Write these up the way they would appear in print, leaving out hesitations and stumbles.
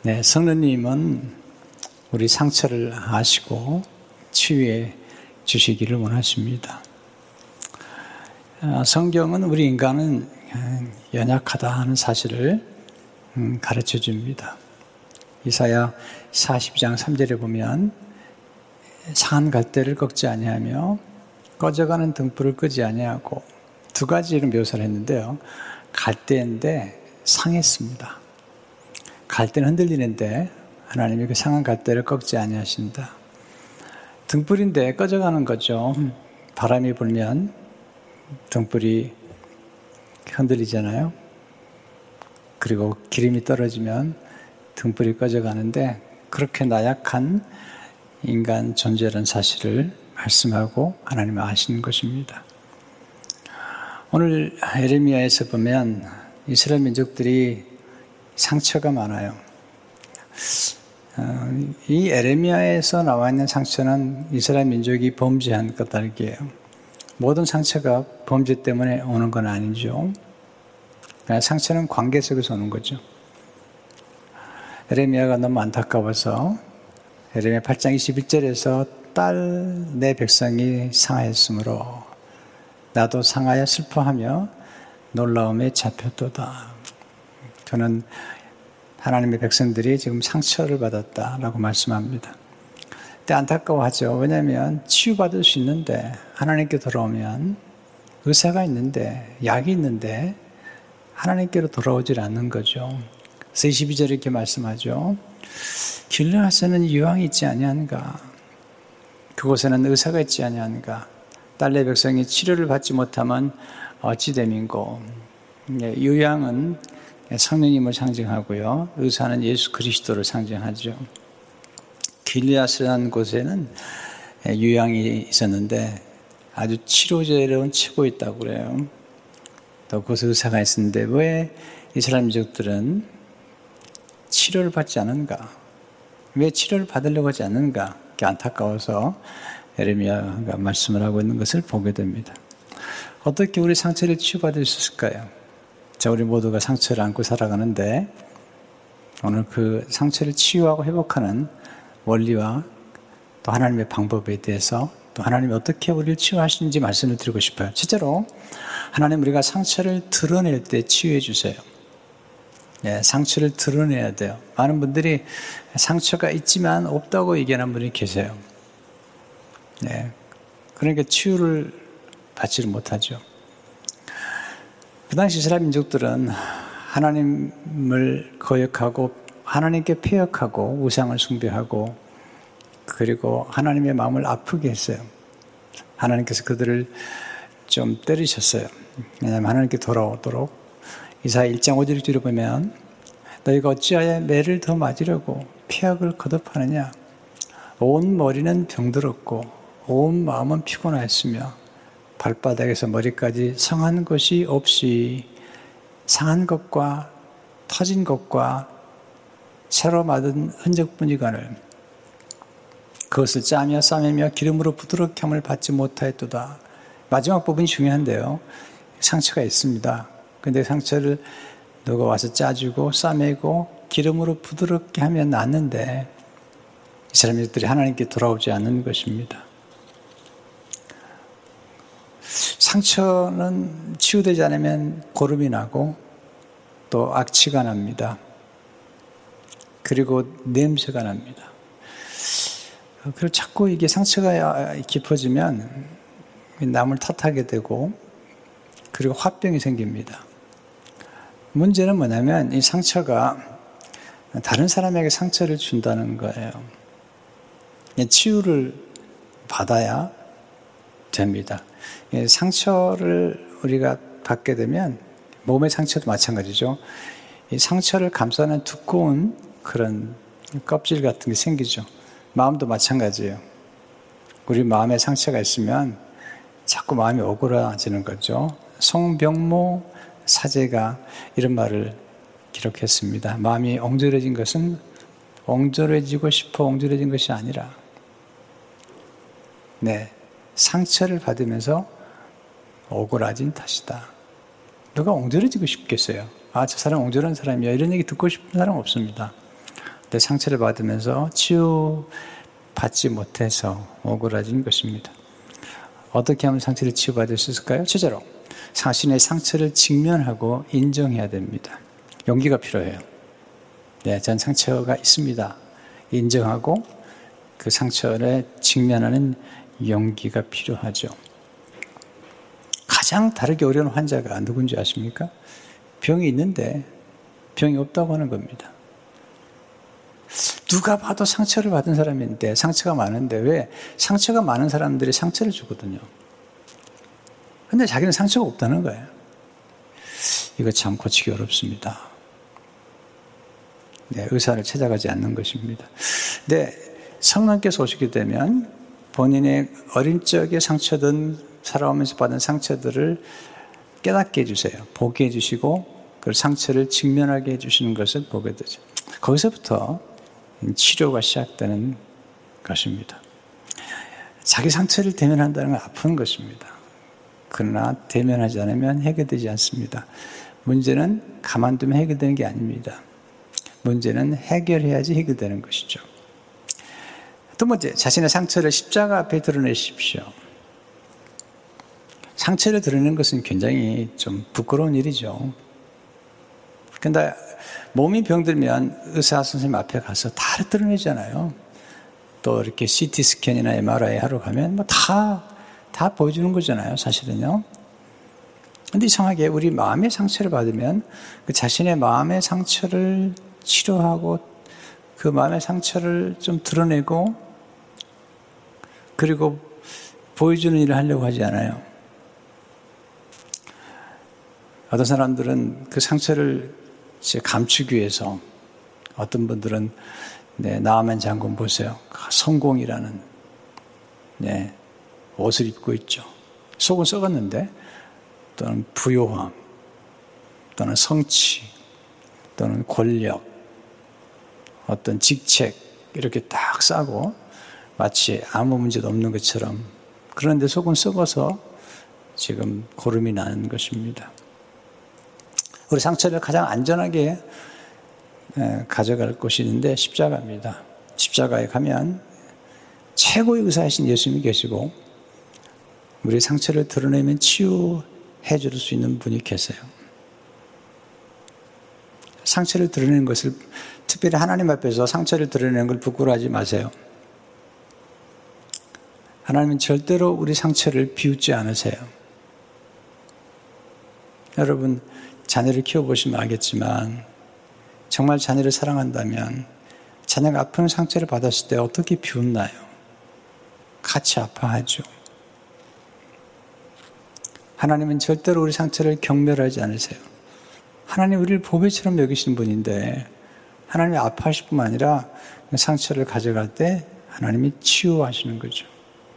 네, 성령님은 우리 상처를 아시고 치유해 주시기를 원하십니다. 성경은 우리 인간은 연약하다 하는 사실을 가르쳐 줍니다. 이사야 42장 3절에 보면 상한 갈대를 꺾지 아니하며 꺼져가는 등불을 끄지 아니하고 두 가지를 묘사를 했는데요. 갈대인데 상했습니다. 갈대는 흔들리는데 하나님이 그 상한 갈대를 꺾지 아니하신다. 등불인데 꺼져가는 거죠. 바람이 불면 등불이 흔들리잖아요. 그리고 기름이 떨어지면 등불이 꺼져가는데 그렇게 나약한 인간 존재라는 사실을 말씀하고 하나님은 아시는 것입니다. 오늘 에레미야에서 보면 이스라엘 민족들이 상처가 많아요. 이 에레미야에서 나와 있는 상처는 이스라엘 민족이 범죄한 까닭이에요. 모든 상처가 범죄 때문에 오는 건 아니죠. 상처는 관계 속에서 오는 거죠. 에레미야가 너무 안타까워서 에레미야 8장 21절에서 딸 내 백성이 상하였으므로 나도 상하여 슬퍼하며 놀라움에 잡혔도다. 저는 하나님의 백성들이 지금 상처를 받았다라고 말씀합니다. 근데 안타까워하죠. 왜냐하면 치유받을 수 있는데 하나님께 돌아오면 의사가 있는데 약이 있는데 하나님께로 돌아오질 않는 거죠. 그래서 22절에 이렇게 말씀하죠. 길르앗에는 유황이 있지 아니한가? 그곳에는 의사가 있지 아니한가? 딸내 백성이 치료를 받지 못하면 어찌 됨인고? 유황은 성령님을 상징하고요. 의사는 예수 그리스도를 상징하죠. 길르앗이라는 곳에는 유황이 있었는데 아주 치료제로는 치고 있다고 그래요. 또 그곳에 의사가 있었는데 왜 이스라엘 민족들은 치료를 받지 않은가? 왜 치료를 받으려고 하지 않는가? 그게 안타까워서 에레미야가 말씀을 하고 있는 것을 보게 됩니다. 어떻게 우리 상처를 치유받을 수 있을까요? 자, 우리 모두가 상처를 안고 살아가는데 오늘 그 상처를 치유하고 회복하는 원리와 또 하나님의 방법에 대해서 또 하나님이 어떻게 우리를 치유하시는지 말씀을 드리고 싶어요. 첫째로 하나님 우리가 상처를 드러낼 때 치유해 주세요. 네, 상처를 드러내야 돼요. 많은 분들이 상처가 있지만 없다고 얘기하는 분이 계세요. 네, 그러니까 치유를 받지를 못하죠. 그 당시 이스라엘 민족들은 하나님을 거역하고 하나님께 패역하고 우상을 숭배하고 그리고 하나님의 마음을 아프게 했어요. 하나님께서 그들을 좀 때리셨어요. 왜냐하면 하나님께 돌아오도록 이사야 1장 5절 6절을 보면 너희가 어찌하여 매를 더 맞으려고 패역을 거듭하느냐? 온 머리는 병들었고 온 마음은 피곤하였으며 발바닥에서 머리까지 상한 것이 없이 상한 것과 터진 것과 새로 맞은 흔적뿐이거늘 그것을 짜며 싸매며 기름으로 부드럽게 함을 받지 못하였도다. 마지막 부분이 중요한데요. 상처가 있습니다. 근데 상처를 누가 와서 짜주고 싸매고 기름으로 부드럽게 하면 낫는데 이 사람들이 하나님께 돌아오지 않는 것입니다. 상처는 치유되지 않으면 고름이 나고 또 악취가 납니다. 그리고 냄새가 납니다. 그리고 자꾸 이게 상처가 깊어지면 남을 탓하게 되고 그리고 화병이 생깁니다. 문제는 뭐냐면 이 상처가 다른 사람에게 상처를 준다는 거예요. 치유를 받아야 됩니다. 상처를 우리가 받게 되면 몸의 상처도 마찬가지죠. 이 상처를 감싸는 두꺼운 그런 껍질 같은 게 생기죠. 마음도 마찬가지예요. 우리 마음에 상처가 있으면 자꾸 마음이 오그라지는 거죠. 송병모 사제가 이런 말을 기록했습니다. 마음이 옹졸해진 것은 옹졸해지고 싶어 옹졸해진 것이 아니라 상처를 받으면서 오그라진 탓이다. 누가 옹졸해지고 싶겠어요? 저 사람 옹졸한 사람이야. 이런 얘기 듣고 싶은 사람 없습니다. 근데 상처를 받으면서 치유받지 못해서 억울해진 것입니다. 어떻게 하면 상처를 치유받을 수 있을까요? 첫째로 자신의 상처를 직면하고 인정해야 됩니다. 용기가 필요해요. 네, 전 상처가 있습니다. 인정하고 그 상처를 직면하는 용기가 필요하죠. 가장 다루기 어려운 환자가 누군지 아십니까? 병이 있는데 병이 없다고 하는 겁니다. 누가 봐도 상처를 받은 사람인데 상처가 많은데 왜? 상처가 많은 사람들이 상처를 주거든요. 근데 자기는 상처가 없다는 거예요. 이거 참 고치기 어렵습니다. 네, 의사를 찾아가지 않는 것입니다. 근데 성령께서 오시게 되면 본인의 어린 적에 상처든 살아오면서 받은 상처들을 깨닫게 해주세요. 보게 해주시고 그 상처를 직면하게 해주시는 것을 보게 되죠. 거기서부터 치료가 시작되는 것입니다. 자기 상처를 대면한다는 건 아픈 것입니다. 그러나 대면하지 않으면 해결되지 않습니다. 문제는 가만두면 해결되는 게 아닙니다. 문제는 해결해야지 해결되는 것이죠. 두 번째, 자신의 상처를 십자가 앞에 드러내십시오. 상처를 드러내는 것은 굉장히 좀 부끄러운 일이죠. 근데 몸이 병들면 의사 선생님 앞에 가서 다 드러내잖아요. 또 이렇게 CT 스캔이나 MRI 하러 가면 뭐 다 보여주는 거잖아요, 사실은요. 근데 이상하게 우리 마음의 상처를 받으면 그 자신의 마음의 상처를 치료하고 그 마음의 상처를 좀 드러내고 그리고 보여주는 일을 하려고 하지 않아요. 어떤 사람들은 그 상처를 감추기 위해서 어떤 분들은 나아만 장군 보세요. 성공이라는 옷을 입고 있죠. 속은 썩었는데 또는 부요함 또는 성취 또는 권력 어떤 직책 이렇게 딱 싸고 마치 아무 문제도 없는 것처럼 그런데 속은 썩어서 지금 고름이 나는 것입니다. 우리 상처를 가장 안전하게 가져갈 곳이 있는데 십자가입니다. 십자가에 가면 최고의 의사이신 예수님이 계시고 우리 상처를 드러내면 치유해 줄 수 있는 분이 계세요. 상처를 드러내는 것을 특별히 하나님 앞에서 상처를 드러내는 걸 부끄러워하지 마세요. 하나님은 절대로 우리 상처를 비웃지 않으세요. 여러분 자녀를 키워보시면 알겠지만 정말 자녀를 사랑한다면 자녀가 아픈 상처를 받았을 때 어떻게 비웃나요? 같이 아파하죠. 하나님은 절대로 우리 상처를 경멸하지 않으세요. 하나님 우리를 보배처럼 여기시는 분인데 하나님이 아파하실 뿐만 아니라 상처를 가져갈 때 하나님이 치유하시는 거죠.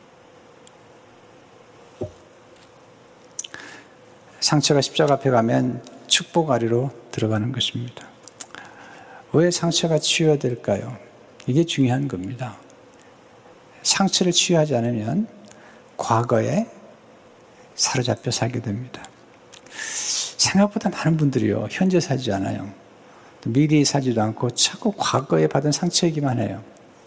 상처가 십자가 앞에 가면 축복 아래로 들어가는 것입니다. 왜 상처가 치유해야 될까요? 이게 중요한 겁니다. 상처를 치유하지 않으면 과거에 사로잡혀 살게 됩니다. 생각보다 많은 분들이요, 현재 살지 않아요. 미래에 살지도 않고 자꾸 과거에 받은 상처 얘기만 해요.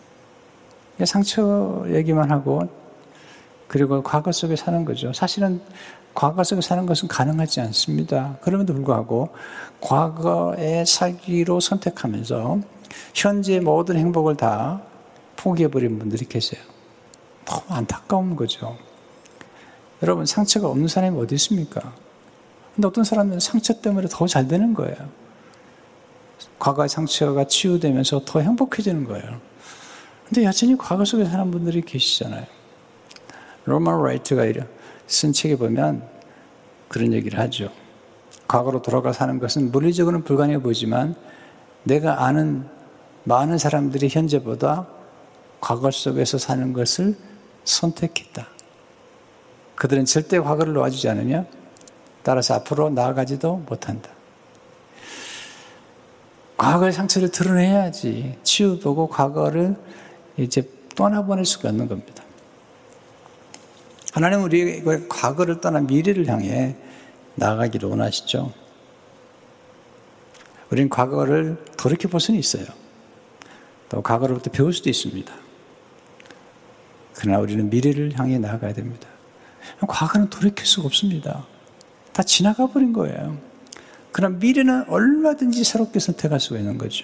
상처 얘기만 하고 그리고 과거 속에 사는 거죠. 사실은 과거 속에 사는 것은 가능하지 않습니다. 그럼에도 불구하고 과거에 살기로 선택하면서 현재의 모든 행복을 다 포기해버린 분들이 계세요. 너무 안타까운 거죠. 여러분 상처가 없는 사람이 어디 있습니까? 근데 어떤 사람은 상처 때문에 더 잘 되는 거예요. 과거의 상처가 치유되면서 더 행복해지는 거예요. 근데 여전히 과거 속에 사는 분들이 계시잖아요. 로만 라이트가 쓴 책에 보면 그런 얘기를 하죠. 과거로 돌아가 사는 것은 물리적으로는 불가능해 보이지만 내가 아는 많은 사람들이 현재보다 과거 속에서 사는 것을 선택했다. 그들은 절대 과거를 놓아주지 않으며 따라서 앞으로 나아가지도 못한다. 과거의 상처를 드러내야지 치유보고 과거를 이제 떠나보낼 수가 없는 겁니다. 하나님은 우리의 과거를 떠나 미래를 향해 나아가기를 원하시죠. 우리는 과거를 돌이켜볼 수는 있어요. 또 과거로부터 배울 수도 있습니다. 그러나 우리는 미래를 향해 나아가야 됩니다. 과거는 돌이킬 수가 없습니다. 다 지나가 버린 거예요. 그러나 미래는 얼마든지 새롭게 선택할 수가 있는 거죠.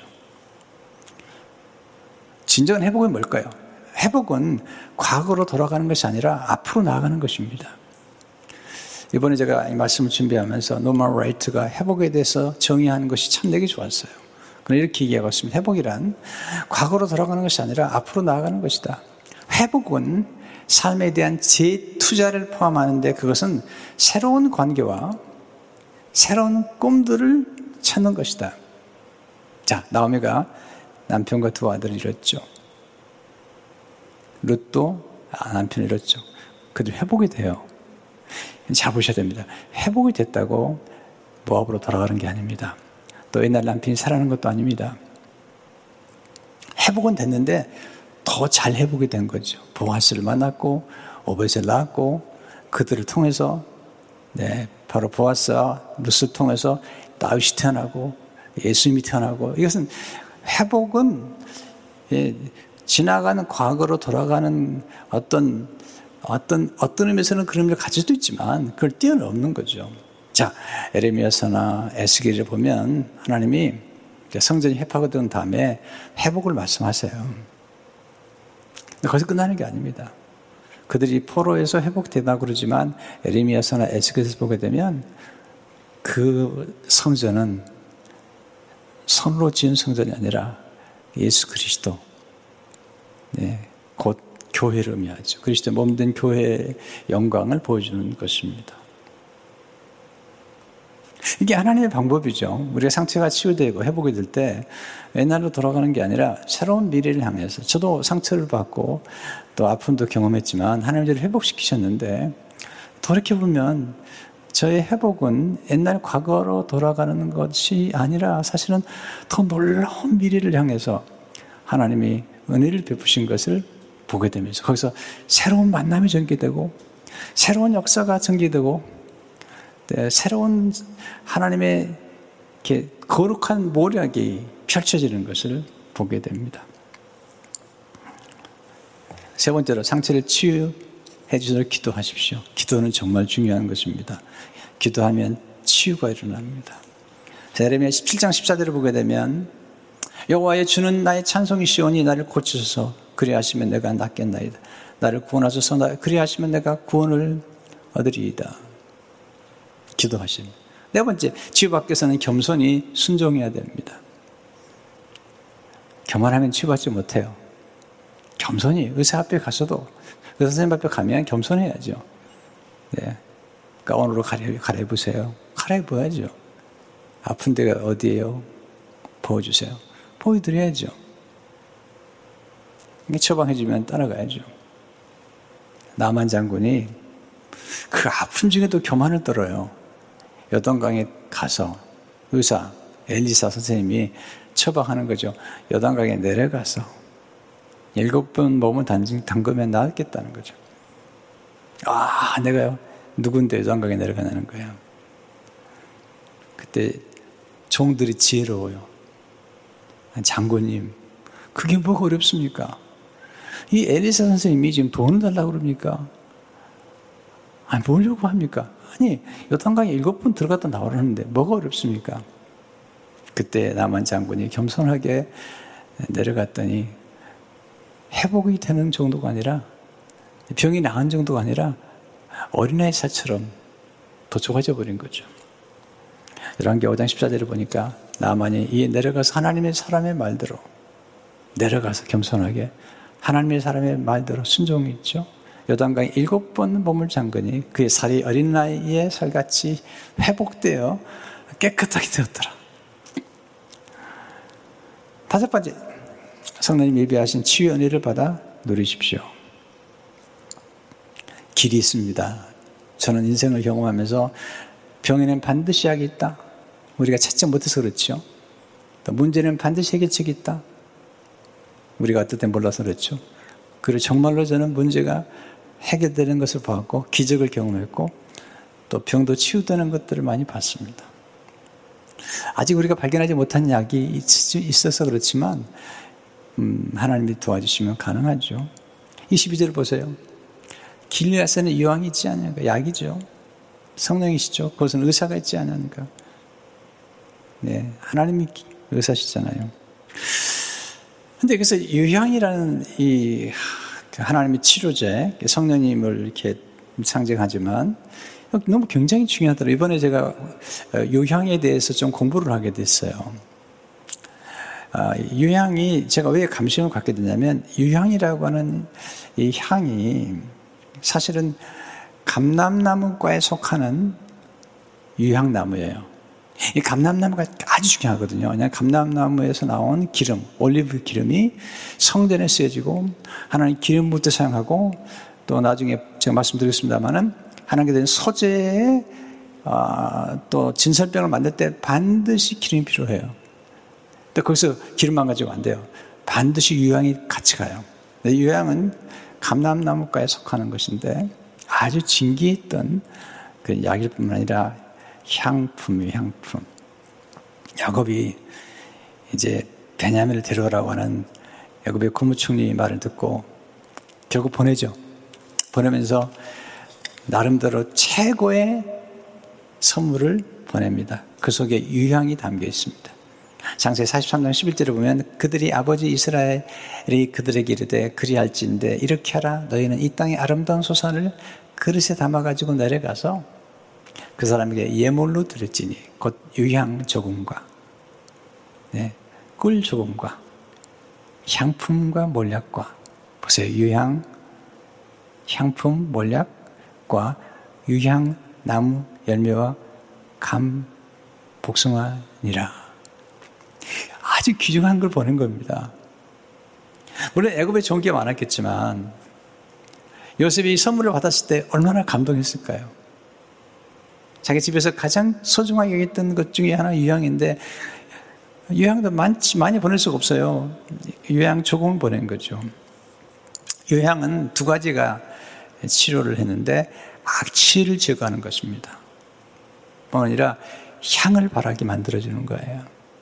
진정한 회복은 뭘까요? 회복은 과거로 돌아가는 것이 아니라 앞으로 나아가는 것입니다. 이번에 제가 이 말씀을 준비하면서 노만 라이트가 회복에 대해서 정의하는 것이 참 내게 좋았어요. 그럼 이렇게 얘기하고 있습니다. 회복이란 과거로 돌아가는 것이 아니라 앞으로 나아가는 것이다. 회복은 삶에 대한 재투자를 포함하는데 그것은 새로운 관계와 새로운 꿈들을 찾는 것이다. 자, 나오미가 남편과 두 아들을 잃었죠. 룻도 남편을 잃었죠. 그들 회복이 돼요. 잘 보셔야 됩니다. 회복이 됐다고 모압으로 돌아가는 게 아닙니다. 또 옛날 남편이 살아나는 것도 아닙니다. 회복은 됐는데 더 잘 회복이 된 거죠. 보아스를 만났고 오벳을 낳았고 그들을 통해서 바로 보아스와 룻을 통해서 다윗이 태어나고 예수님이 태어나고 이것은 회복은 지나가는 과거로 돌아가는 어떤 의미에서는 그런 의미를 가질 수도 있지만 그걸 뛰어넘는 거죠. 자, 에레미야서나 에스겔을 보면 하나님이 성전이 회파가 다음에 회복을 말씀하세요. 거기서 끝나는 게 아닙니다. 그들이 포로에서 회복되다 그러지만 에레미야서나 에스겔에서 보게 되면 그 성전은 손으로 지은 성전이 아니라 예수 그리스도, 곧 교회를 의미하죠. 그리스도의 몸된 교회의 영광을 보여주는 것입니다. 이게 하나님의 방법이죠. 우리가 상처가 치유되고 회복이 될 때 옛날로 돌아가는 게 아니라 새로운 미래를 향해서 저도 상처를 받고 또 아픔도 경험했지만 하나님 저를 회복시키셨는데 돌이켜보면 저의 회복은 옛날 과거로 돌아가는 것이 아니라 사실은 더 놀라운 미래를 향해서 하나님이 은혜를 베푸신 것을 보게 되면서 거기서 새로운 만남이 전개되고 새로운 역사가 전개되고 새로운 하나님의 이렇게 거룩한 모략이 펼쳐지는 것을 보게 됩니다. 세 번째로 상처를 치유해 주셔서 기도하십시오. 기도는 정말 중요한 것입니다. 기도하면 치유가 일어납니다. 예레미야 17장 14절을 보게 되면 여호와의 주는 나의 찬송이시오니 나를 고치소서 그리하시면 내가 낫겠나이다. 나를 구원하소서 그리하시면 내가 구원을 얻으리이다. 기도하십니다. 네 번째, 치유받기 위해서는 겸손히 순종해야 됩니다. 교만하면 치유받지 못해요. 겸손히 의사 앞에 가서도 의사 선생님 앞에 가면 겸손해야죠. 가운으로 갈아입으세요. 갈아입어야죠. 아픈 데가 어디예요? 보여주세요. 보여드려야죠. 처방해주면 따라가야죠. 나만 장군이 그 아픔 중에도 교만을 떨어요. 요단강에 가서 의사 엘리사 선생님이 처방하는 거죠. 요단강에 내려가서 7번 몸을 담그면 나았겠다는 거죠. 내가요 누군데 요단강에 내려가냐는 거예요. 그때 종들이 지혜로워요. 장군님, 그게 뭐가 어렵습니까? 이 엘리사 선생님이 지금 돈을 달라고 그럽니까? 뭐려고 합니까? 요단강에 7번 들어갔다 나오라는데 뭐가 어렵습니까? 그때 나만 장군이 겸손하게 내려갔더니 회복이 되는 정도가 아니라 병이 나은 정도가 아니라 어린아이 살처럼 더 좋아져 버린 거죠. 열왕기 5장 14절을 보니까 나만이 이에 내려가서 하나님의 사람의 말대로 내려가서 겸손하게 하나님의 사람의 말대로 순종이 있죠. 요단강에 7번 몸을 잠그니 그의 살이 어린 나이의 살같이 회복되어 깨끗하게 되었더라. 다섯 번째, 성령님 예비하신 치유 은혜를 받아 누리십시오. 길이 있습니다. 저는 인생을 경험하면서 병에는 반드시 약이 있다. 우리가 찾지 못해서 그렇죠. 또 문제는 반드시 해결책이 있다. 우리가 어떨 때 몰라서 그렇죠. 그리고 정말로 저는 문제가 해결되는 것을 봤고 기적을 경험했고 또 병도 치유되는 것들을 많이 봤습니다. 아직 우리가 발견하지 못한 약이 있어서 그렇지만 하나님이 도와주시면 가능하죠. 22절 보세요. 길리앗에는 유황이 있지 않냐니까. 약이죠. 성령이시죠. 그것은 의사가 있지 않냐니까. 네, 하나님이 의사시잖아요. 근데 그래서 유향이라는 이 하나님의 치료제, 성령님을 이렇게 상징하지만 너무 굉장히 중요하더라고요. 이번에 제가 유향에 대해서 좀 공부를 하게 됐어요. 유향이 제가 왜 감심을 갖게 됐냐면 유향이라고 하는 이 향이 사실은 감람나무과에 속하는 유향나무예요. 이 감람나무가 아주 중요하거든요. 그냥 감람나무에서 나온 기름, 올리브 기름이 성전에 쓰여지고 하나님 기름 붓때 사용하고 또 나중에 제가 말씀드리겠습니다만은 하나님께 드린 소재에 또 진설병을 만들 때 반드시 기름이 필요해요. 또 거기서 기름만 가지고 안 돼요. 반드시 유향이 같이 가요. 유향은 감람나무과에 속하는 것인데 아주 진귀했던 그 약일 뿐만 아니라 향품이에요, 향품. 야곱이 이제 베냐민을 데려오라고 하는 야곱의 국무총리 말을 듣고 결국 보내죠. 보내면서 나름대로 최고의 선물을 보냅니다. 그 속에 유향이 담겨 있습니다. 창세기 43장 11절에 보면 그들이 아버지 이스라엘이 그들에게 이르되 그리할진대 이렇게 하라. 너희는 이 땅의 아름다운 소산을 그릇에 담아가지고 내려가서 그 사람에게 예물로 드렸지니 곧 유향 조금과 꿀 조금과 향품과 몰약과 보세요. 유향, 향품, 몰약과 유향 나무 열매와 감 복숭아니라. 아주 귀중한 걸 보낸 겁니다. 물론 애굽에 좋은 게 많았겠지만 요셉이 선물을 받았을 때 얼마나 감동했을까요? 자기 집에서 가장 소중하게 여겼던 것 중에 하나 유향인데 유향도 많이 보낼 수가 없어요. 유향 조금을 보낸 거죠. 유향은 두 가지가 치료를 했는데 악취를 제거하는 것입니다. 뿐만 아니라 향을 바라게 만들어주는 거예요.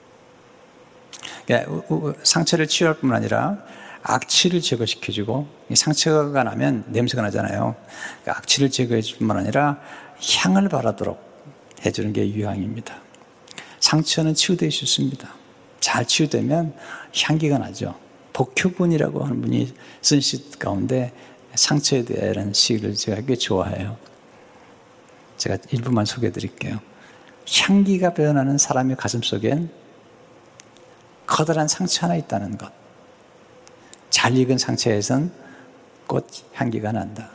그러니까 상처를 치유할 뿐만 아니라 악취를 제거시켜주고 상처가 나면 냄새가 나잖아요. 그러니까 악취를 제거해 줄 뿐만 아니라 향을 바라도록 해주는 게 유향입니다. 상처는 치유되기 쉽습니다. 잘 치유되면 향기가 나죠. 복효분이라고 하는 분이 쓴 시 가운데 상처에 대한 시를 제가 꽤 좋아해요. 제가 일부만 소개해 드릴게요. 향기가 배어나는 사람의 가슴 속엔 커다란 상처 하나 있다는 것. 잘 익은 상처에선 꽃 향기가 난다.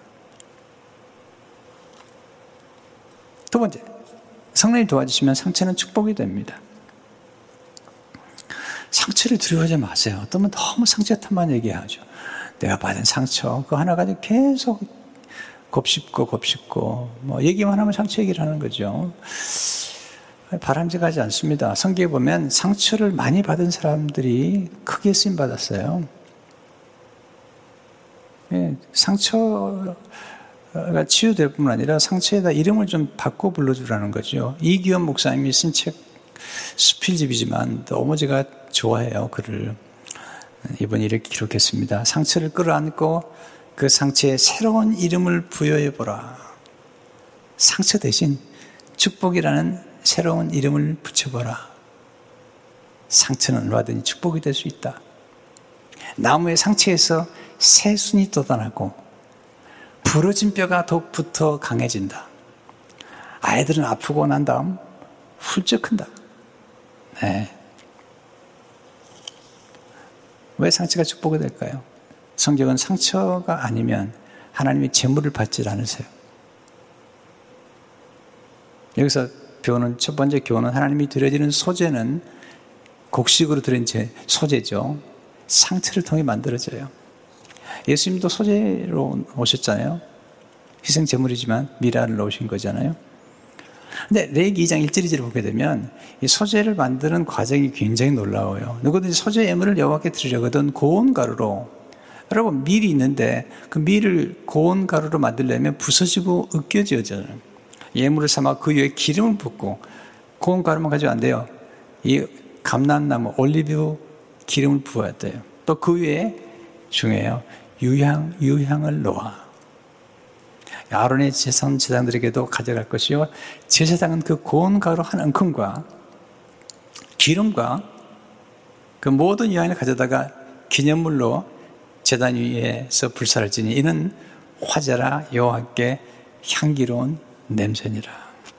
두 번째, 성령이 도와주시면 상처는 축복이 됩니다. 상처를 두려워하지 마세요. 어떤 분 너무 상처 탓만 얘기하죠. 내가 받은 상처 그거 하나 가지고 계속 곱씹고 뭐 얘기만 하면 상처 얘기를 하는 거죠. 바람직하지 않습니다. 성경에 보면 상처를 많이 받은 사람들이 크게 쓰임 받았어요. 상처가 치유될 뿐만 아니라 상처에다 이름을 좀 바꿔 불러주라는 거죠. 이기원 목사님이 쓴 책 수필집이지만 너무 제가 좋아해요. 글을 이번에 이렇게 기록했습니다. 상처를 끌어안고 그 상처에 새로운 이름을 부여해보라. 상처 대신 축복이라는 새로운 이름을 붙여보라. 상처는 얼마든지 축복이 될 수 있다. 나무의 상처에서 새순이 돋아나고 부러진 뼈가 더욱부터 강해진다. 아이들은 아프고 난 다음 훌쩍 큰다. 네. 왜 상처가 축복이 될까요? 성경은 상처가 아니면 하나님이 재물을 받지 않으세요. 여기서 배우는 첫 번째 교훈은 하나님이 드려지는 소재는 곡식으로 드린 소재죠. 상처를 통해 만들어져요. 예수님도 소재로 오셨잖아요. 희생 제물이지만 미라를 넣으신 거잖아요. 근데 레위기 2장 1절 2절을 보게 되면 이 소재를 만드는 과정이 굉장히 놀라워요. 누구든지 소재 예물을 여호와께 드리려거든 고운 가루로, 여러분 밀이 있는데 그 밀을 고운 가루로 만들려면 부서지고 으깨져져요. 예물을 삼아 그 위에 기름을 붓고 고운 가루만 가지고 안 돼요. 이 감람나무 올리브 기름을 부어야 돼요. 또 그 위에 중요해요. 유향을 놓아. 아론의 제사장들에게도 가져갈 것이요. 제사장은 그 고운 가루 한 움큼과 기름과 그 모든 유향을 가져다가 기념물로 제단 위에서 불사를 지니 이는 화제라 여호와께 향기로운 냄새니라.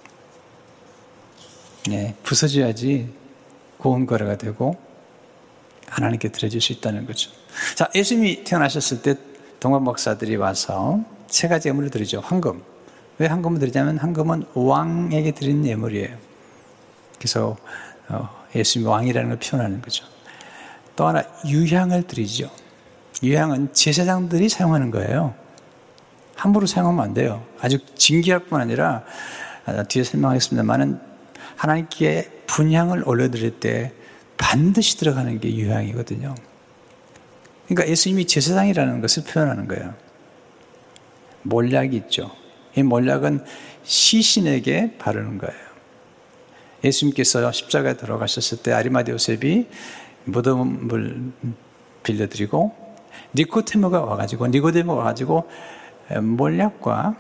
네, 부서져야지 고운 가루가 되고 하나님께 드려줄 수 있다는 거죠. 자, 예수님이 태어나셨을 때 동방 목사들이 와서 세 가지 예물을 드리죠. 황금. 왜 황금을 드리냐면 황금은 왕에게 드리는 예물이에요. 그래서 예수님이 왕이라는 걸 표현하는 거죠. 또 하나 유향을 드리죠. 유향은 제사장들이 사용하는 거예요. 함부로 사용하면 안 돼요. 아주 진귀할 뿐 아니라 뒤에 설명하겠습니다만은 하나님께 분향을 올려드릴 때 반드시 들어가는 게 유향이거든요. 그러니까 예수님이 제사장이라는 것을 표현하는 거예요. 몰약이 있죠. 이 몰약은 시신에게 바르는 거예요. 예수님께서 십자가에 들어가셨을 때 아리마대 요셉이 무덤을 빌려드리고 니고데모가 와가지고 몰약과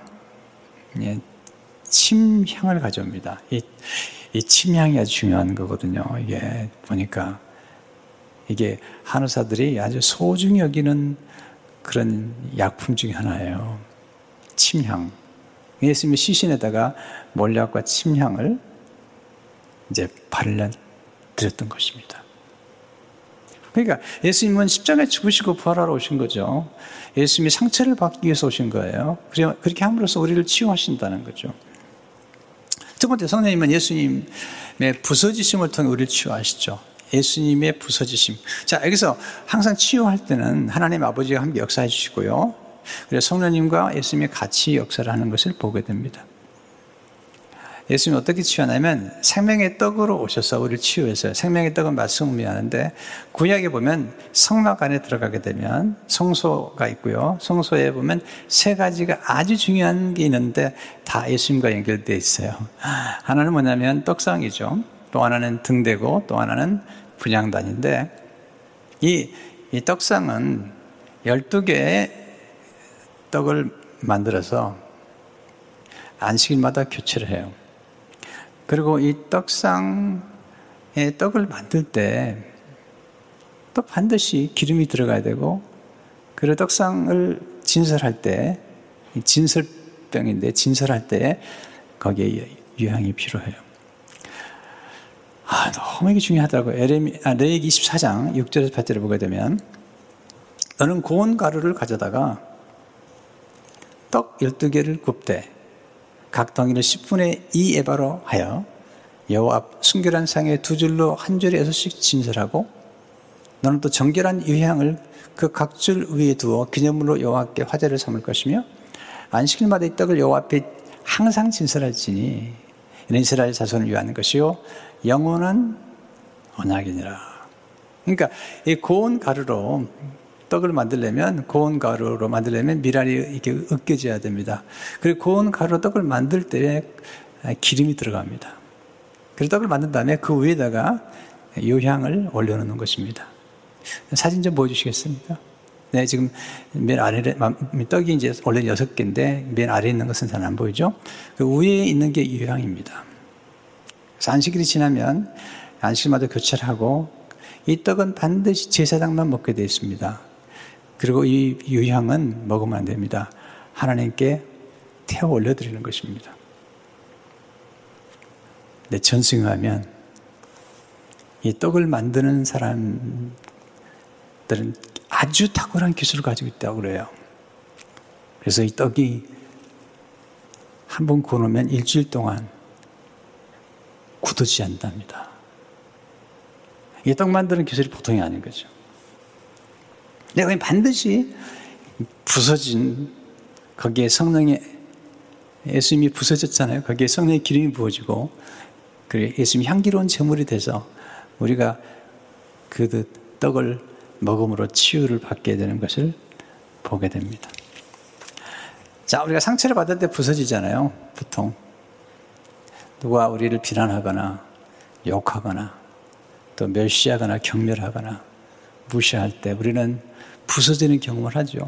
침향을 가져옵니다. 이 침향이 아주 중요한 거거든요. 이게 보니까 이게 한의사들이 아주 소중히 여기는 그런 약품 중에 하나예요. 침향. 예수님의 시신에다가 몰약과 침향을 이제 발라 드렸던 것입니다. 그러니까 예수님은 십자가에 죽으시고 부활하러 오신 거죠. 예수님이 상처를 받기 위해서 오신 거예요. 그렇게 함으로써 우리를 치유하신다는 거죠. 두 번째, 성령님은 예수님의 부서지심을 통해 우리를 치유하시죠. 예수님의 부서지심. 자, 여기서 항상 치유할 때는 하나님 아버지가 함께 역사해 주시고요. 그래서 성령님과 예수님이 같이 역사를 하는 것을 보게 됩니다. 예수님이 어떻게 치유하냐면 생명의 떡으로 오셔서 우리를 치유해서요. 생명의 떡은 말씀을 의미하는데 구약에 보면 성막 안에 들어가게 되면 성소가 있고요. 성소에 보면 세 가지가 아주 중요한 게 있는데 다 예수님과 연결되어 있어요. 하나는 뭐냐면 떡상이죠. 또 하나는 등대고 또 하나는 분향단인데 이 떡상은 12개의 떡을 만들어서 안식일마다 교체를 해요. 그리고 이 떡상에 떡을 만들 때 또 반드시 기름이 들어가야 되고 그리고 떡상을 진설할 때 진설병인데 진설할 때 거기에 유향이 필요해요. 너무 이게 중요하더라고요. 레위기 24장 6절에서 8절을 보게 되면 너는 고운 가루를 가져다가 떡 12개를 굽되 각 덩이를 10분의 2 에바로 하여 여호와 앞 순결한 상에 두 줄로 한 줄에 6씩 진설하고 너는 또 정결한 유향을 그 각 줄 위에 두어 기념물로 여호와께 화제를 삼을 것이며 안식일마다 이 떡을 여호와 앞에 항상 진설할지니 이는 이스라엘 자손을 위하는 것이요 영원한 언약이니라. 그러니까 이 고운 가루로 떡을 만들려면 미랄이 이렇게 으깨져야 됩니다. 그리고 고운 가루로 떡을 만들 때 기름이 들어갑니다. 그래서 떡을 만든 다음에 그 위에다가 유향을 올려놓는 것입니다. 사진 좀 보여주시겠습니까? 네, 지금 맨 아래 떡이 이제 원래 6개인데 맨 아래에 있는 것은 잘 안 보이죠? 그 위에 있는 게 유향입니다. 그래서 안식일이 지나면 안식일마다 교체를 하고 이 떡은 반드시 제사장만 먹게 되어 있습니다. 그리고 이 유향은 먹으면 안 됩니다. 하나님께 태워 올려드리는 것입니다. 내 전승하면 이 떡을 만드는 사람들은 아주 탁월한 기술을 가지고 있다고 그래요. 그래서 이 떡이 한 번 구우면 일주일 동안 굳어지지 않답니다. 이 떡 만드는 기술이 보통이 아닌 거죠. 근데 반드시 부서진 거기에 예수님이 부서졌잖아요. 거기에 성령의 기름이 부어지고 그리고 예수님이 향기로운 제물이 돼서 우리가 그 떡을 먹음으로 치유를 받게 되는 것을 보게 됩니다. 자, 우리가 상처를 받을 때 부서지잖아요. 보통 누가 우리를 비난하거나 욕하거나 또 멸시하거나 경멸하거나 무시할 때 우리는 부서지는 경험을 하죠.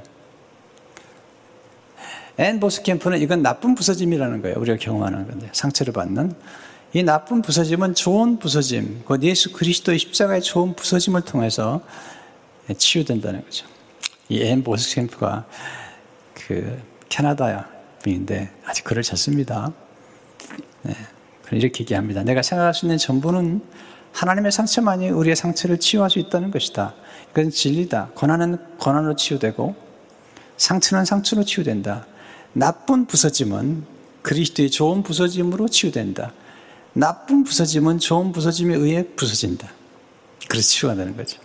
앤 보스캠프는 이건 나쁜 부서짐이라는 거예요. 우리가 경험하는 건데, 상처를 받는 이 나쁜 부서짐은 좋은 부서짐, 곧 예수 그리스도의 십자가의 좋은 부서짐을 통해서 치유된다는 거죠. 이 앤 보스캠프가 그 캐나다 분인데 아직 글을 쳤습니다. 네, 이렇게 얘기합니다. 내가 생각할 수 있는 전부는 하나님의 상처만이 우리의 상처를 치유할 수 있다는 것이다. 이건 진리다. 고난은 고난으로 치유되고 상처는 상처로 치유된다. 나쁜 부서짐은 그리스도의 좋은 부서짐으로 치유된다. 나쁜 부서짐은 좋은 부서짐에 의해 부서진다. 그래서 치유가 되는 거죠.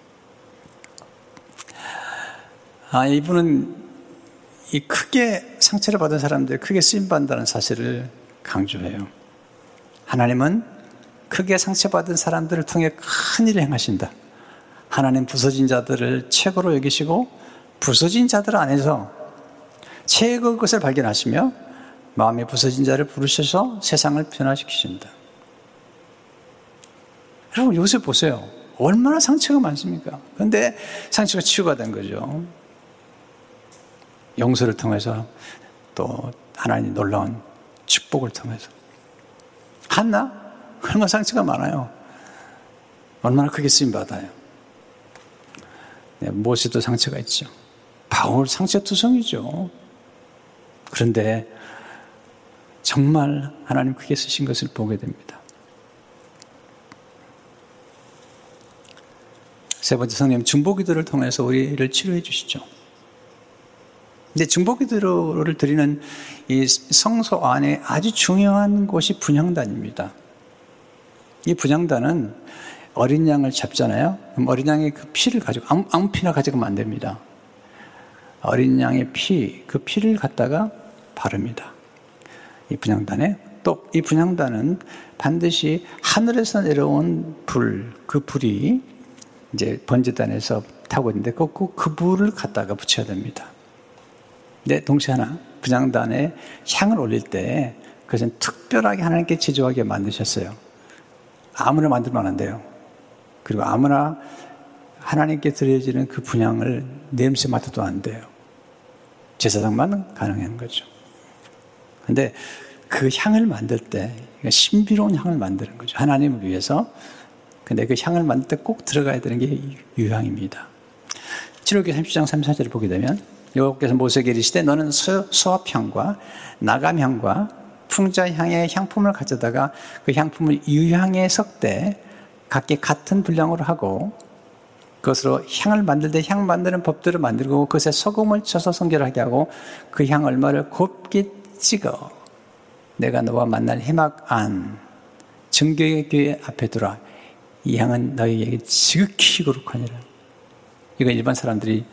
이분은 이 크게 상처를 받은 사람들, 크게 쓰임받는다는 사실을 강조해요. 하나님은 크게 상처받은 사람들을 통해 큰 일을 행하신다. 하나님 부서진 자들을 최고로 여기시고 부서진 자들 안에서 최고의 것을 발견하시며 마음이 부서진 자를 부르셔서 세상을 변화시키신다. 여러분 요새 보세요. 얼마나 상처가 많습니까? 그런데 상처가 치유가 된 거죠. 용서를 통해서 또 하나님 놀라운 축복을 통해서. 한나? 얼마나 상처가 많아요. 얼마나 크게 쓰임받아요. 네, 모세도 상처가 있죠. 바울 상처투성이죠. 그런데 정말 하나님 크게 쓰신 것을 보게 됩니다. 세 번째, 성령 중보기도를 통해서 우리를 치료해 주시죠. 근데 중보기도를 드리는 이 성소 안에 아주 중요한 곳이 분향단입니다. 이 분향단은 어린 양을 잡잖아요. 그럼 어린 양의 그 피를 가지고 아무 피나 가져가면 안 됩니다. 어린 양의 피, 그 피를 갖다가 바릅니다. 이 분향단에. 또 이 분향단은 반드시 하늘에서 내려온 불, 그 불이 이제 번제단에서 타고 있는데 그 불을 갖다가 붙여야 됩니다. 근데 동시에 하나, 분향단에 향을 올릴 때 그것은 특별하게 하나님께 제조하게 만드셨어요. 아무나 만들면 안 돼요. 그리고 아무나 하나님께 드려지는 그 분향을 냄새 맡아도 안 돼요. 제사장만 가능한 거죠. 그런데 그 향을 만들 때 신비로운 향을 만드는 거죠. 하나님을 위해서. 근데 그 향을 만들 때 꼭 들어가야 되는 게 유향입니다. 출애굽기 30장 34절을 보게 되면 여호와께서 모세에게 이르시되 너는 수압향과 나감향과 풍자향의 향품을 가져다가 그 향품을 유향에 섞되 각기 같은 분량으로 하고 그것으로 향을 만들 때 향 만드는 법들을 만들고 그것에 소금을 쳐서 성결하게 하고 그 향 얼마를 곱게 찍어 내가 너와 만날 해막 안 정교의 교회 앞에 두라. 이 향은 너희에게 지극히 거룩하니라. 이거 일반 사람들이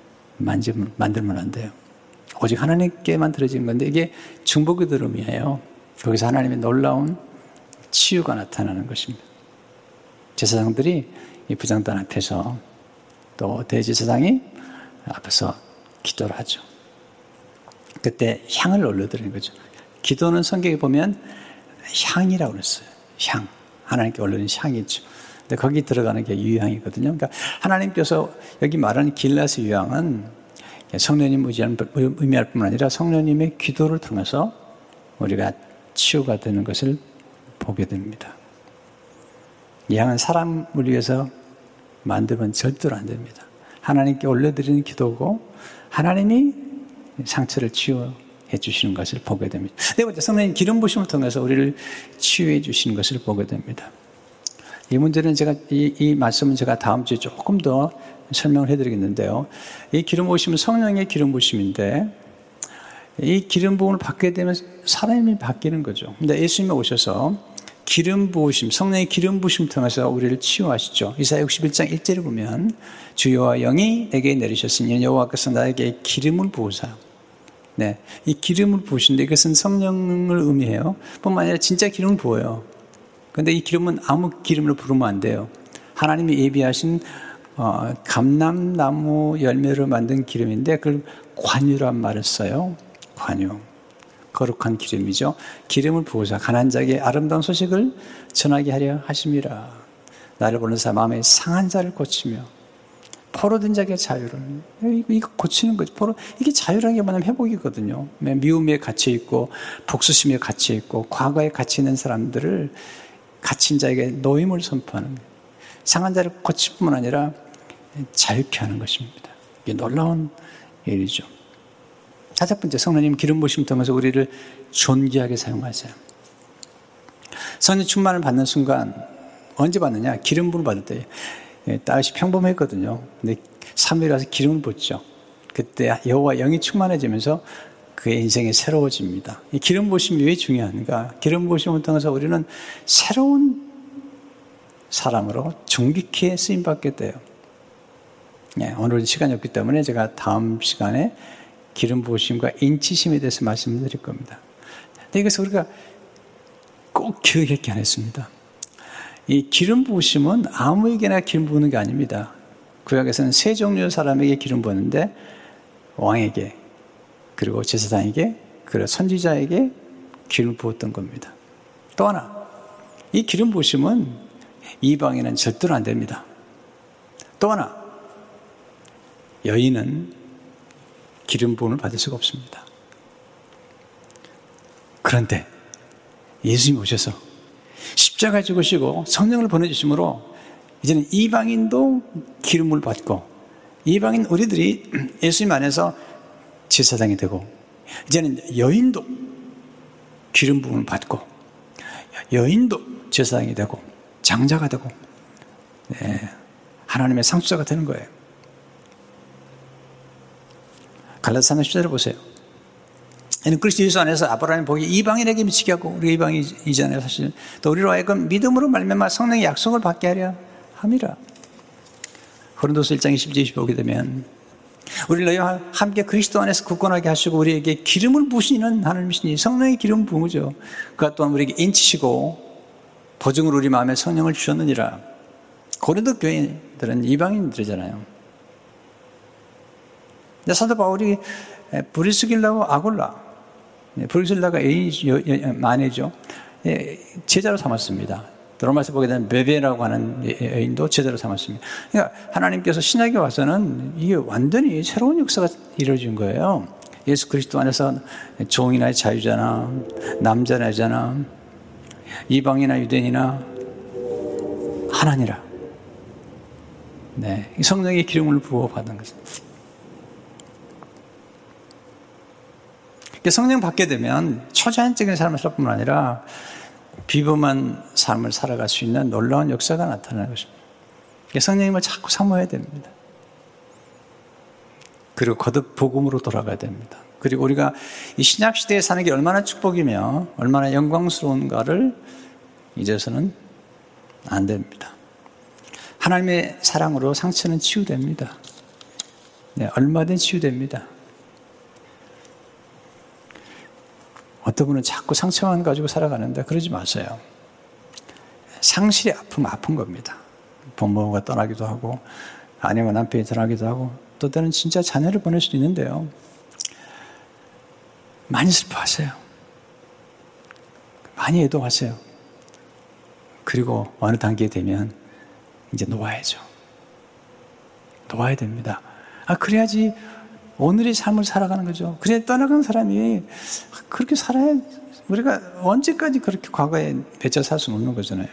만들면 안 돼요. 오직 하나님께만 드려진 건데 이게 중보기도름이에요. 거기서 하나님의 놀라운 치유가 나타나는 것입니다. 제사장들이 이 부장단 앞에서 또 대제사장이 앞에서 기도를 하죠. 그때 향을 올려드리는 거죠. 기도는 성경에 보면 향이라고 그랬어요. 향. 하나님께 올리는 향이죠. 근데 거기 들어가는 게 유향이거든요. 그러니까 하나님께서 여기 말하는 길라스 유향은 성령님 의미할 뿐만 아니라 성령님의 기도를 통해서 우리가 치유가 되는 것을 보게 됩니다. 이 향은 사람을 위해서 만들면 절대로 안 됩니다. 하나님께 올려드리는 기도고 하나님이 상처를 치유해 주시는 것을 보게 됩니다. 네 번째, 성령님 기름 부심을 통해서 우리를 치유해 주시는 것을 보게 됩니다. 이 문제는 이 말씀은 제가 다음 주에 조금 더 설명을 해드리겠는데요. 이 기름 부심은 성령의 기름 부심인데 이 기름 부음을 받게 되면 사람이 바뀌는 거죠. 근데 예수님이 오셔서 기름 부으심, 성령의 기름 부심을 통해서 우리를 치유하시죠. 이사야 61장 1절에 보면 주 여호와 영이 내게 내리셨으니 여호와께서 나에게 기름을 부으사. 네, 이 기름을 부으신데 이것은 성령을 의미해요. 뿐만 아니라 진짜 기름을 부어요. 그런데 이 기름은 아무 기름으로 부으면 안 돼요. 하나님이 예비하신 감람나무 열매로 만든 기름인데 그걸 관유란 말을 써요. 관유. 거룩한 기름이죠. 기름을 부으사 가난한 자에게 아름다운 소식을 전하게 하려 하심이라. 나를 보는 사 마음에 상한 자를 고치며 포로된 자에게 자유를. 이거 고치는 거죠. 이게 자유라는 게 뭐냐면 회복이거든요. 미움에 갇혀있고, 복수심에 갇혀있고, 과거에 갇혀있는 사람들을 갇힌 자에게 노임을 선포하는 거예요. 상한 자를 고칠 뿐만 아니라 자유케 하는 것입니다. 이게 놀라운 일이죠. 다섯 번째, 성령님 기름 부으심 통해서 우리를 존귀하게 사용하세요. 성령 충만을 받는 순간 언제 받느냐? 기름 부음을 받을 때. 다윗이 평범했거든요. 근데 사무엘이 와서 기름을 붓죠. 그때 여호와 영이 충만해지면서 그의 인생이 새로워집니다. 이 기름 부으심이 왜 중요한가? 기름 부으심을 통해서 우리는 새로운 사람으로 존귀케 쓰임받게 돼요. 오늘은 시간이 없기 때문에 제가 다음 시간에 기름 부으심과 인치심에 대해서 말씀을 드릴 겁니다. 근데 이것을 우리가 꼭 기억했게 안 했습니다. 이 기름 부으심은 아무에게나 기름 부는 게 아닙니다. 구약에서는 세 종류의 사람에게 기름 부었는데 왕에게, 그리고 제사장에게, 그리고 선지자에게 기름 부었던 겁니다. 또 하나, 이 기름 부으심은 이방인은 절대로 안 됩니다. 또 하나, 여인은 기름 부음을 받을 수가 없습니다. 그런데 예수님이 오셔서 십자가에 죽으시고 성령을 보내주심으로 이제는 이방인도 기름을 받고, 이방인 우리들이 예수님 안에서 제사장이 되고, 이제는 여인도 기름 부음을 받고, 여인도 제사장이 되고 장자가 되고, 하나님의 상수자가 되는 거예요. 갈라디아서 3장 10절을 보세요. 이는 그리스도 예수 안에서 아브라함의 복이 이방인에게 미치게 하고, 우리 이방인이잖아요 사실. 또 우리로 하여금 믿음으로 말미암아 성령의 약속을 받게 하려 함이라. 고린도서 1장 20절 20절 보게 되면 우리를 너희와 함께 그리스도 안에서 굳건하게 하시고 우리에게 기름을 부으시는 하나님이시니, 성령의 기름 부으죠. 그가 또한 우리에게 인치시고 보증으로 우리 마음에 성령을 주셨느니라. 고린도 교인들은 이방인들이잖아요. 근데 사도 바울이 브리스길라와 아굴라, 브리스길라가 마네죠, 제자로 삼았습니다. 로마서 보게 되면 베베라고 하는 여인도 제자로 삼았습니다. 그러니까 하나님께서 신약에 와서는 이게 완전히 새로운 역사가 이루어진 거예요. 예수 그리스도 안에서 종이나 자유자나 남자나 여자나 이방이나 유대인이나 하나니라. 성령의 기름을 부어 받는 것입니다. 성령 받게 되면 초자연적인 삶을 살 뿐만 아니라 비범한 삶을 살아갈 수 있는 놀라운 역사가 나타나는 것입니다. 성령님을 자꾸 사모해야 됩니다. 그리고 거듭 복음으로 돌아가야 됩니다. 그리고 우리가 이 신약시대에 사는 게 얼마나 축복이며 얼마나 영광스러운가를 잊어서는 안 됩니다. 하나님의 사랑으로 상처는 치유됩니다. 얼마든 치유됩니다. 어떤 분은 자꾸 상처만 가지고 살아가는데 그러지 마세요. 상실의 아픔은 아픈 겁니다. 부모가 떠나기도 하고, 아내와 남편이 떠나기도 하고, 또 때는 진짜 자녀를 보낼 수도 있는데요. 많이 슬퍼하세요. 많이 애도하세요. 그리고 어느 단계에 되면 이제 놓아야죠. 놓아야 됩니다. 그래야지 오늘의 삶을 살아가는 거죠. 그래 떠나간 사람이 그렇게 살아야, 우리가 언제까지 그렇게 과거에 맺혀 살 수는 없는 거잖아요.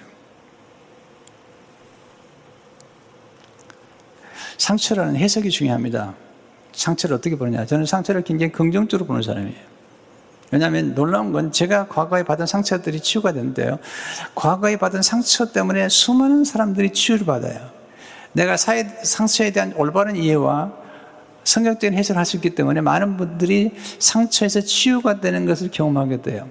상처라는 해석이 중요합니다. 상처를 어떻게 보느냐. 저는 상처를 굉장히 긍정적으로 보는 사람이에요. 왜냐하면 놀라운 건 제가 과거에 받은 상처들이 치유가 되는데요, 과거에 받은 상처 때문에 수많은 사람들이 치유를 받아요. 내가 상처에 대한 올바른 이해와 성경적인 해석을 할 수 있기 때문에 많은 분들이 상처에서 치유가 되는 것을 경험하게 돼요.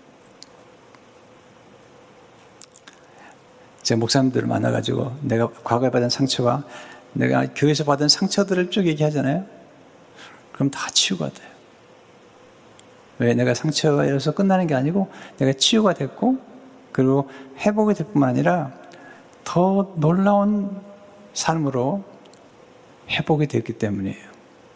제가 목사님들을 만나가지고 내가 과거에 받은 상처와 내가 교회에서 받은 상처들을 쭉 얘기하잖아요. 그럼 다 치유가 돼요. 왜? 내가 상처에서 끝나는 게 아니고 내가 치유가 됐고, 그리고 회복이 될 뿐만 아니라 더 놀라운 삶으로 회복이 됐기 때문이에요.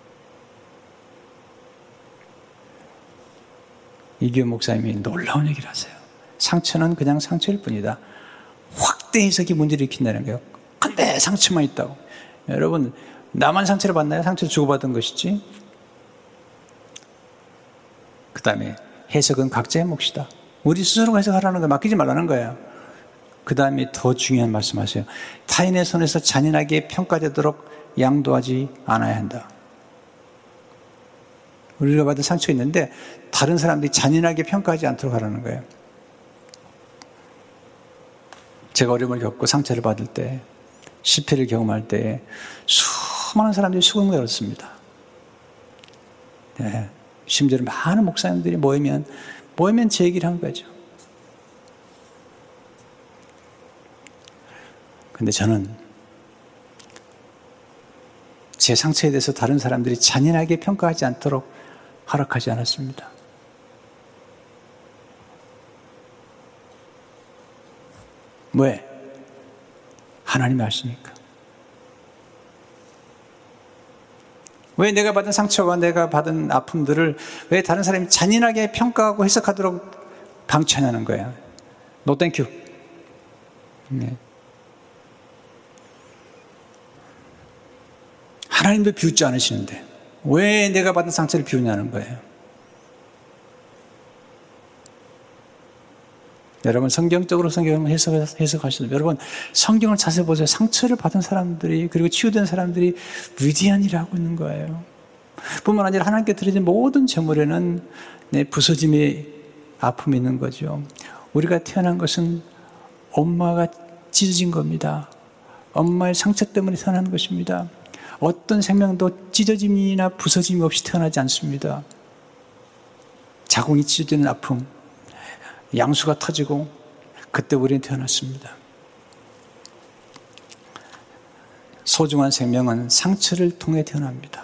이규 목사님이 놀라운 얘기를 하세요. 상처는 그냥 상처일 뿐이다. 확대 해석이 문제를 일으킨다는 거예요. 근데 상처만 있다고. 여러분, 나만 상처를 받나요? 상처를 주고받은 것이지. 그 다음에 해석은 각자의 몫이다. 우리 스스로가 해석하라는 거 맡기지 말라는 거예요. 그 다음에 더 중요한 말씀하세요. 타인의 손에서 잔인하게 평가되도록 양도하지 않아야 한다. 우리가 받은 상처가 있는데 다른 사람들이 잔인하게 평가하지 않도록 하라는 거예요. 제가 어려움을 겪고 상처를 받을 때, 실패를 경험할 때 수많은 사람들이 수긍을 얻었습니다. 네. 심지어 많은 목사님들이 모이면 제 얘기를 한 거죠. 근데 저는 제 상처에 대해서 다른 사람들이 잔인하게 평가하지 않도록 허락하지 않았습니다. 왜? 하나님이 아시니까. 왜 내가 받은 상처와 내가 받은 아픔들을 왜 다른 사람이 잔인하게 평가하고 해석하도록 방치하냐는 거예요. No thank you. 네. 하나님도 비웃지 않으시는데 왜 내가 받은 상처를 비우냐는 거예요. 여러분, 성경적으로 성경을 해석하시는 여러분, 성경을 자세히 보세요. 상처를 받은 사람들이, 그리고 치유된 사람들이 위대한 일을 하고 있는 거예요. 뿐만 아니라 하나님께 드려진 모든 제물에는 부서짐의 아픔이 있는 거죠. 우리가 태어난 것은 엄마가 찢어진 겁니다. 엄마의 상처 때문에 태어난 것입니다. 어떤 생명도 찢어짐이나 부서짐이 없이 태어나지 않습니다. 자궁이 찢어지는 아픔, 양수가 터지고 그때 우리는 태어났습니다. 소중한 생명은 상처를 통해 태어납니다.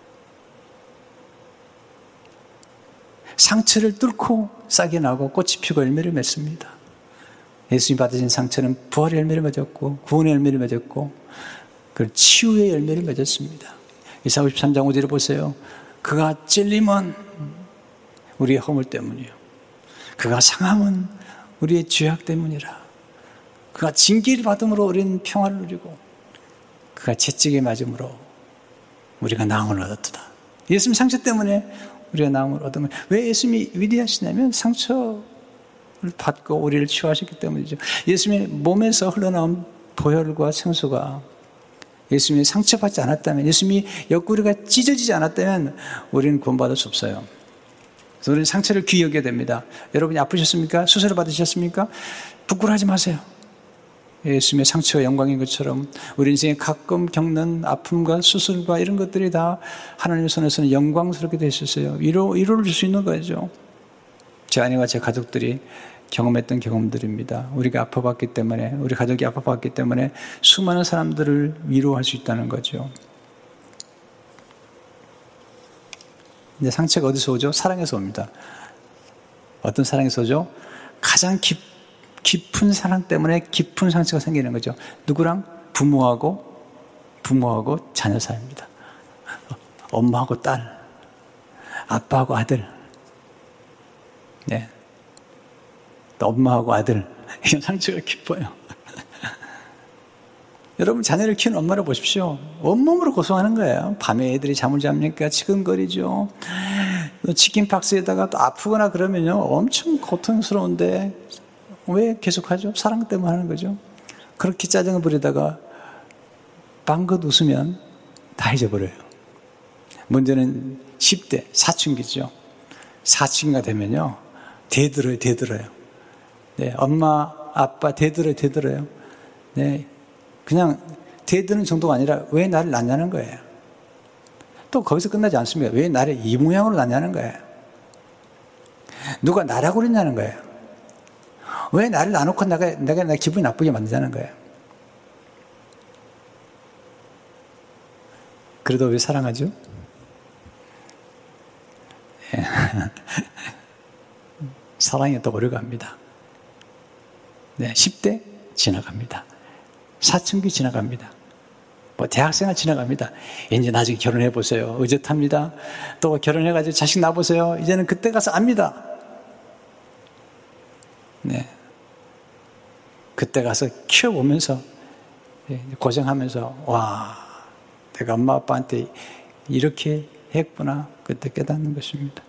상처를 뚫고 싹이 나고 꽃이 피고 열매를 맺습니다. 예수님 받으신 상처는 부활의 열매를 맺었고 구원의 열매를 맺었고 그 치유의 열매를 맺었습니다. 이사야 53장 5절을 보세요. 그가 찔림은 우리의 허물 때문이요, 그가 상함은 우리의 죄악 때문이라. 그가 징계를 받음으로 우리는 평화를 누리고 그가 채찍에 맞음으로 우리가 나음을 얻었다. 예수님 상처 때문에 우리가 나음을 얻은 거예요. 왜 예수님이 위대하시냐면 상처를 받고 우리를 치유하셨기 때문이죠. 예수님의 몸에서 흘러나온 보혈과 생수가 예수님이 상처받지 않았다면, 예수님이 옆구리가 찢어지지 않았다면 우리는 구원받을 수 없어요. 그래서 우리는 상처를 귀히 여겨야 됩니다. 여러분이 아프셨습니까? 수술을 받으셨습니까? 부끄러워하지 마세요. 예수님의 상처가 영광인 것처럼 우리 인생에 가끔 겪는 아픔과 수술과 이런 것들이 다 하나님의 손에서는 영광스럽게 되셨어요. 위로를 줄 수 있는 거죠. 제 아내와 제 가족들이 경험했던 경험들입니다. 우리가 아파봤기 때문에, 우리 가족이 아파봤기 때문에 수많은 사람들을 위로할 수 있다는 거죠. 근데 상처가 어디서 오죠? 사랑에서 옵니다. 어떤 사랑에서 오죠? 가장 깊은 사랑 때문에 깊은 상처가 생기는 거죠. 누구랑? 부모하고 자녀 사이입니다. 엄마하고 딸, 아빠하고 아들, 네. 엄마하고 아들, 이런 상처가 깊어요. 여러분, 자녀를 키우는 엄마를 보십시오. 온몸으로 고생하는 거예요. 밤에 애들이 잠을 잡니까? 치근거리죠. 치킨 박스에다가 또 아프거나 그러면요, 엄청 고통스러운데 왜 계속하죠? 사랑 때문에 하는 거죠. 그렇게 짜증을 부리다가 빵긋 웃으면 다 잊어버려요. 문제는 10대, 사춘기죠. 사춘기가 되면요, 대들어요. 네, 엄마, 아빠 대들어요. 네, 그냥 대드는 정도가 아니라 왜 나를 낳냐는 거예요. 또 거기서 끝나지 않습니다. 왜 나를 이 모양으로 낳냐는 거예요. 누가 나라고 그랬냐는 거예요. 왜 나를 낳아놓고 내가 기분이 나쁘게 만드냐는 거예요. 그래도 왜 사랑하죠? 네. 사랑이 또 오래갑니다. 네, 10대 지나갑니다. 사춘기 지나갑니다. 대학생활 지나갑니다. 이제 나중에 결혼해보세요. 의젓합니다. 또 결혼해가지고 자식 낳아보세요. 이제는 그때 가서 압니다. 네. 그때 가서 키워보면서, 고생하면서, 와, 내가 엄마 아빠한테 이렇게 했구나. 그때 깨닫는 것입니다.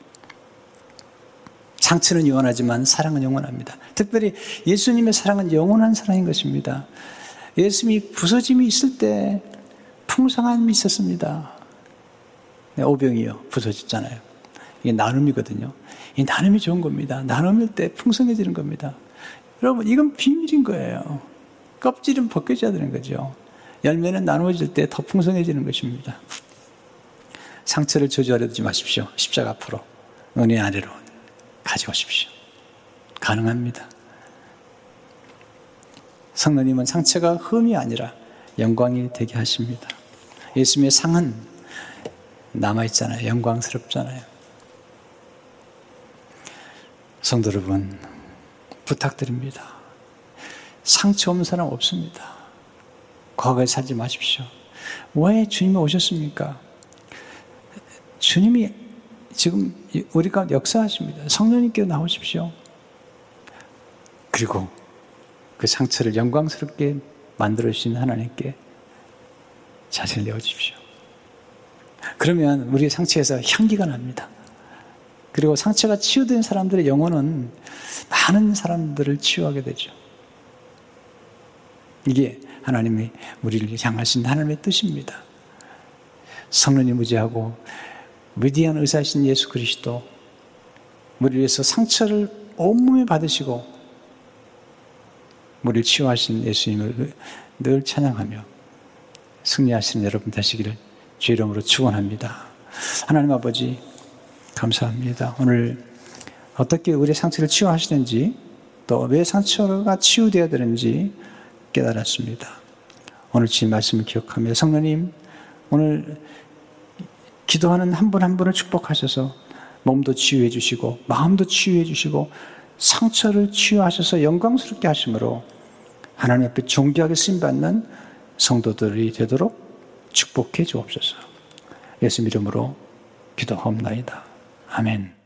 상처는 영원하지만 사랑은 영원합니다. 특별히 예수님의 사랑은 영원한 사랑인 것입니다. 예수님이 부서짐이 있을 때 풍성함이 있었습니다. 오병이요, 부서졌잖아요. 이게 나눔이거든요. 이 나눔이 좋은 겁니다. 나눔일 때 풍성해지는 겁니다. 여러분, 이건 비밀인 거예요. 껍질은 벗겨져야 되는 거죠. 열매는 나누어질 때 더 풍성해지는 것입니다. 상처를 저주하려 두지 마십시오. 십자가 앞으로, 은혜 아래로 가져오십시오. 가능합니다. 성령님은 상처가 흠이 아니라 영광이 되게 하십니다. 예수님의 상은 남아있잖아요. 영광스럽잖아요. 성도 여러분, 부탁드립니다. 상처 없는 사람 없습니다. 과거에 살지 마십시오. 왜 주님이 오셨습니까? 주님이 지금 우리 가운데 역사하십니다. 성령님께 나오십시오. 그리고 그 상처를 영광스럽게 만들어주신 하나님께 자신을 내어주십시오. 그러면 우리의 상처에서 향기가 납니다. 그리고 상처가 치유된 사람들의 영혼은 많은 사람들을 치유하게 되죠. 이게 하나님이 우리를 향하신 하나님의 뜻입니다. 성령이 무지하고 위대한 의사이신 예수 그리스도, 우리를 위해서 상처를 온몸에 받으시고 우리를 치유하신 예수님을 늘 찬양하며 승리하시는 여러분 되시기를 주의 이름으로 축원합니다. 하나님 아버지, 감사합니다. 오늘 어떻게 우리의 상처를 치유하시는지, 또 왜 상처가 치유되어야 되는지 깨달았습니다. 오늘 주님 말씀을 기억하며 성령님, 오늘 기도하는 한 분 한 분을 축복하셔서 몸도 치유해 주시고 마음도 치유해 주시고 상처를 치유하셔서 영광스럽게 하심으로 하나님 앞에 존귀하게 쓰임받는 성도들이 되도록 축복해 주옵소서. 예수 이름으로 기도하옵나이다. 아멘.